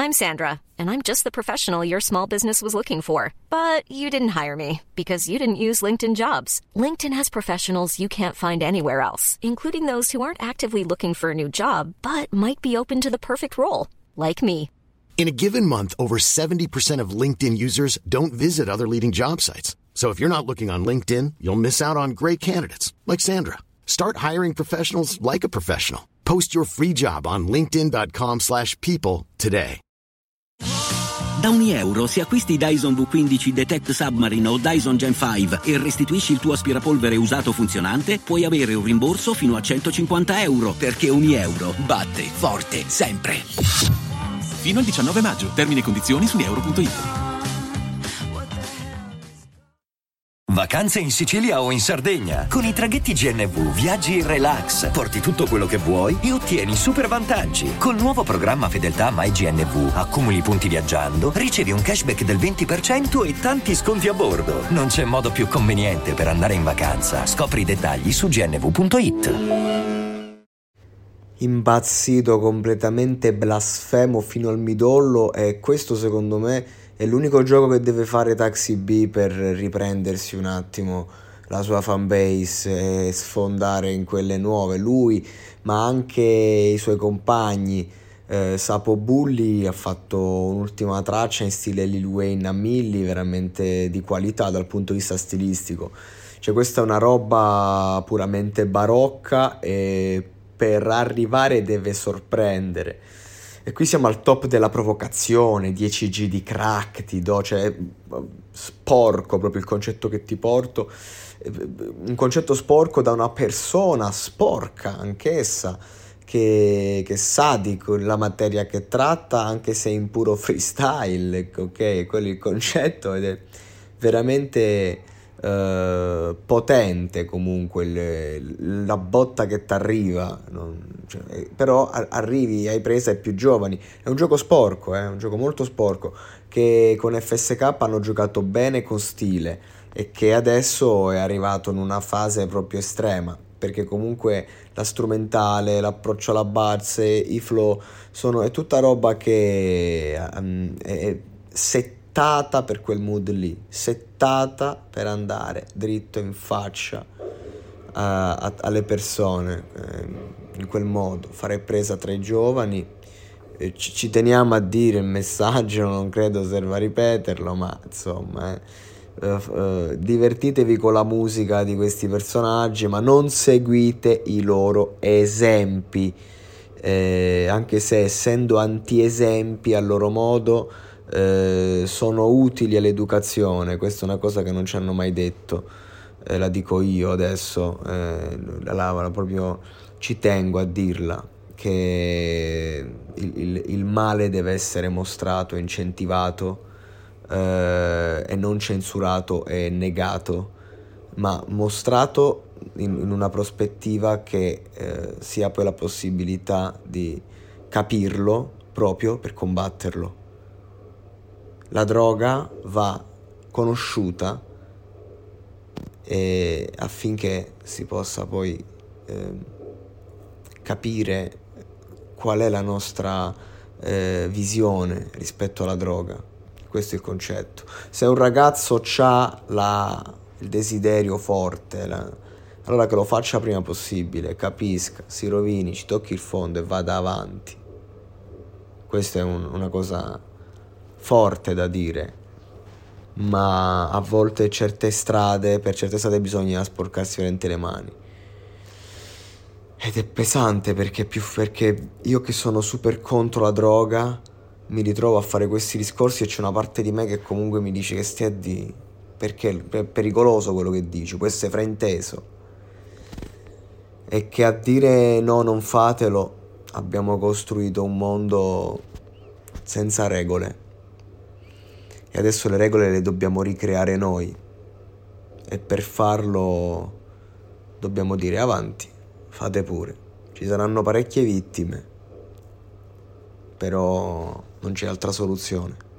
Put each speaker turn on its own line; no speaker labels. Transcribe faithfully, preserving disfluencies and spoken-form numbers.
I'm Sandra, and I'm just the professional your small business was looking for. But you didn't hire me because you didn't use LinkedIn Jobs. LinkedIn has professionals you can't find anywhere else, including those who aren't actively looking for a new job, but might be open to the perfect role, like me.
In a given month, over seventy percent of LinkedIn users don't visit other leading job sites. So if you're not looking on LinkedIn, you'll miss out on great candidates like Sandra. Start hiring professionals like a professional. Post your free job on linkedin.com slash people today.
Da ogni euro, se acquisti Dyson V quindici Detect Submarine o Dyson Gen cinque e restituisci il tuo aspirapolvere usato funzionante, puoi avere un rimborso fino a centocinquanta euro, perché ogni euro batte forte sempre.
Fino al diciannove maggio. Termini e condizioni su euro punto it.
Vacanze in Sicilia o in Sardegna. Con i traghetti G N V viaggi in relax, porti tutto quello che vuoi e ottieni super vantaggi. Col nuovo programma Fedeltà MyGNV accumuli punti viaggiando, ricevi un cashback del venti per cento e tanti sconti a bordo. Non c'è modo più conveniente per andare in vacanza. Scopri i dettagli su gnv punto it.
Impazzito, completamente blasfemo fino al midollo, e questo secondo me è l'unico gioco che deve fare Taxi B per riprendersi un attimo la sua fanbase e sfondare in quelle nuove. Lui, ma anche i suoi compagni. eh, Sapo Bulli ha fatto un'ultima traccia in stile Lil Wayne a Milli, veramente di qualità dal punto di vista stilistico. Cioè, questa è una roba puramente barocca e per arrivare deve sorprendere. E qui siamo al top della provocazione, dieci G di crack ti do, cioè sporco proprio il concetto che ti porto, un concetto sporco da una persona sporca anch'essa, che, che sa di la materia che tratta, anche se in puro freestyle, ok? Quello è il concetto, ed è veramente Uh, potente comunque il, la botta che ti arriva, cioè, però a, arrivi, hai presa ai più giovani. È un gioco sporco, eh, un gioco molto sporco, che con F S K hanno giocato bene con stile e che adesso è arrivato in una fase proprio estrema, perché comunque la strumentale, l'approccio alla base, i flow sono, è tutta roba che um, è settata per quel mood lì, settata per andare dritto in faccia a, a, alle persone, eh, in quel modo, fare presa tra i giovani. Eh, ci, ci teniamo a dire il messaggio, non credo serva a ripeterlo, ma insomma eh, eh, eh, divertitevi con la musica di questi personaggi, ma non seguite i loro esempi, eh, anche se essendo anti-esempi a loro modo Eh, sono utili all'educazione. Questa è una cosa che non ci hanno mai detto, eh, la dico io adesso, eh, la, la, proprio ci tengo a dirla, che il, il, il male deve essere mostrato, incentivato, eh, e non censurato e negato, ma mostrato in, in una prospettiva che eh, sia poi la possibilità di capirlo proprio per combatterlo. La droga va conosciuta e affinché si possa poi eh, capire qual è la nostra eh, visione rispetto alla droga. Questo è il concetto. Se un ragazzo ha la, il desiderio forte, la, allora che lo faccia prima possibile, capisca, si rovini, ci tocchi il fondo e vada avanti. Questa è un, una cosa forte da dire, ma a volte certe strade, per certe strade bisogna sporcarsi veramente le mani, ed è pesante perché più perché io che sono super contro la droga mi ritrovo a fare questi discorsi e c'è una parte di me che comunque mi dice che stia a di perché è pericoloso quello che dici, può essere frainteso, e che a dire no, non fatelo, abbiamo costruito un mondo senza regole. E adesso le regole le dobbiamo ricreare noi, e per farlo dobbiamo dire avanti, fate pure. Ci saranno parecchie vittime, però non c'è altra soluzione.